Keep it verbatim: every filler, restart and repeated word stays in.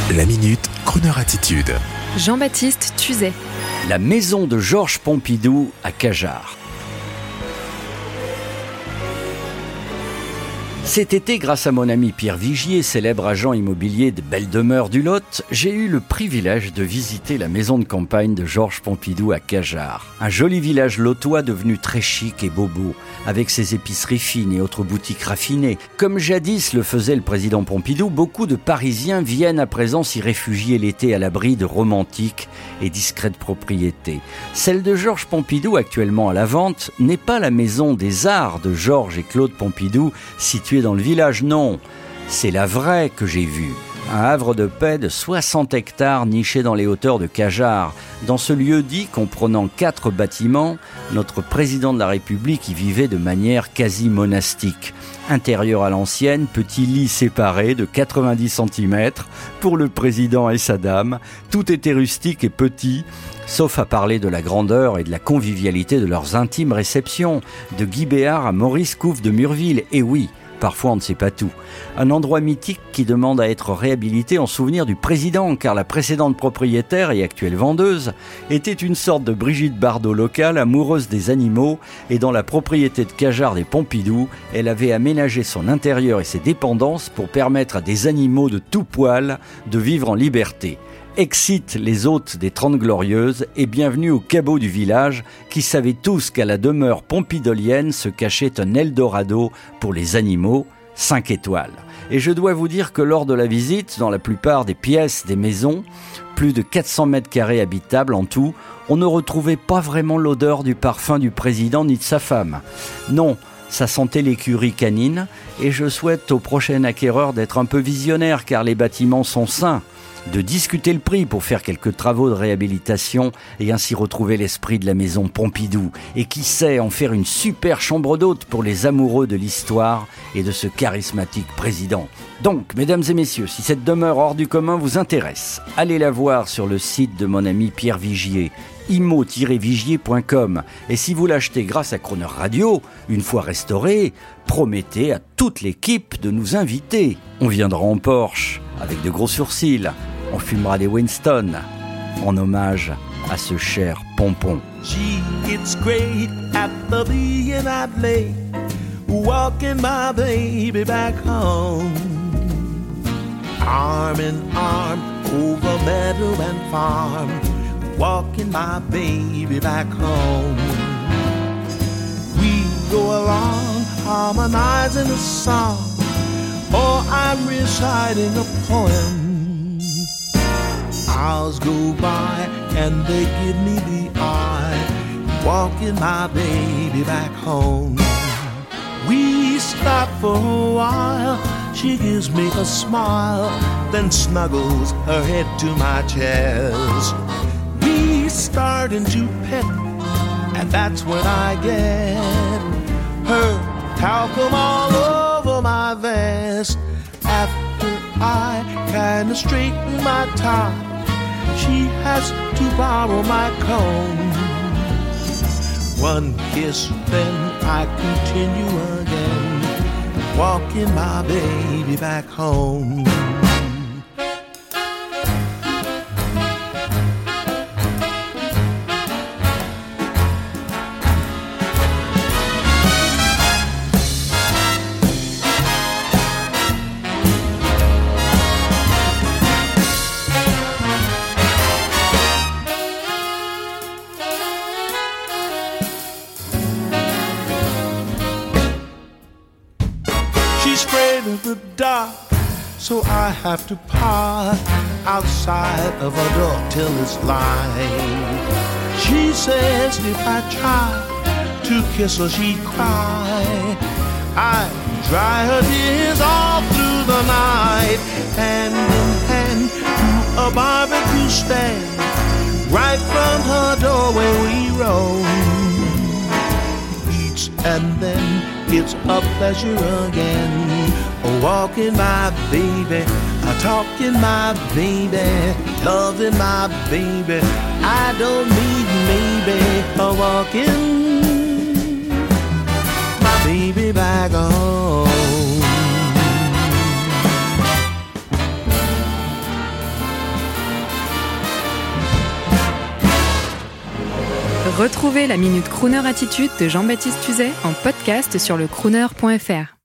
La Minute, Kroneur Attitude. Jean-Baptiste Tuzet. La maison de Georges Pompidou à Cajarc. Cet été, grâce à mon ami Pierre Vigier, célèbre agent immobilier de Belle Demeure du Lot, j'ai eu le privilège de visiter la maison de campagne de Georges Pompidou à Cajarc. Un joli village lotois devenu très chic et bobo, avec ses épiceries fines et autres boutiques raffinées. Comme jadis le faisait le président Pompidou, beaucoup de Parisiens viennent à présent s'y réfugier l'été à l'abri de romantiques et discrètes propriétés. Celle de Georges Pompidou, actuellement à la vente, n'est pas la maison des arts de Georges et Claude Pompidou, située dans le village, non. C'est la vraie que j'ai vue. Un havre de paix de soixante hectares niché dans les hauteurs de Cajarc. Dans ce lieu-dit, comprenant quatre bâtiments, notre président de la République y vivait de manière quasi monastique. Intérieur à l'ancienne, petit lit séparé de quatre-vingt-dix centimètres pour le président et sa dame. Tout était rustique et petit, sauf à parler de la grandeur et de la convivialité de leurs intimes réceptions. De Guy Béard à Maurice Couve de Murville, et oui, parfois on ne sait pas tout. Un endroit mythique qui demande à être réhabilité en souvenir du président, car la précédente propriétaire et actuelle vendeuse était une sorte de Brigitte Bardot locale, amoureuse des animaux, et dans la propriété de Cajarc des Pompidou, elle avait aménagé son intérieur et ses dépendances pour permettre à des animaux de tout poil de vivre en liberté. Excite les hôtes des Trente Glorieuses et bienvenue aux cabots du village qui savaient tous qu'à la demeure pompidolienne se cachait un Eldorado pour les animaux, cinq étoiles. Et je dois vous dire que lors de la visite, dans la plupart des pièces des maisons, plus de quatre cents mètres carrés habitables en tout, on ne retrouvait pas vraiment l'odeur du parfum du président ni de sa femme. Non, ça sentait l'écurie canine et je souhaite au prochain acquéreur d'être un peu visionnaire car les bâtiments sont sains. De discuter le prix pour faire quelques travaux de réhabilitation et ainsi retrouver l'esprit de la maison Pompidou. Et qui sait en faire une super chambre d'hôte pour les amoureux de l'histoire et de ce charismatique président. Donc, mesdames et messieurs, si cette demeure hors du commun vous intéresse, allez la voir sur le site de mon ami Pierre Vigier, immo tiret vigier point com. Et si vous l'achetez grâce à Kroneur Radio, une fois restauré, promettez à toute l'équipe de nous inviter. On viendra en Porsche, avec de gros sourcils. On fumera des Winston, en hommage à ce cher pompon. Gee, it's great at the being I'd lay, walking my baby back home. Arm in arm over meadow and farm, walking my baby back home. We go along harmonizing a song, or I'm reciting a poem. Hours go by and they give me the eye, walking my baby back home. We stop for a while, she gives me a smile, then snuggles her head to my chest. We starting to pet, and that's when I get her talcum all over my vest. After I kinda straighten my tie, she has to borrow my comb. One kiss, then I continue again, walking my baby back home. She's afraid of the dark, so I have to park outside of her door till it's light. She says if I try to kiss her, she'd cry. I dry her tears all through the night, hand in hand to a barbecue stand, right from her doorway we roam. Each and then it's a pleasure again, oh, walking my baby, a talking my baby, loving my baby. I don't need maybe a walking my baby back home. Retrouvez la Minute Crooner Attitude de Jean-Baptiste Tuzet en podcast sur le crooner point f r.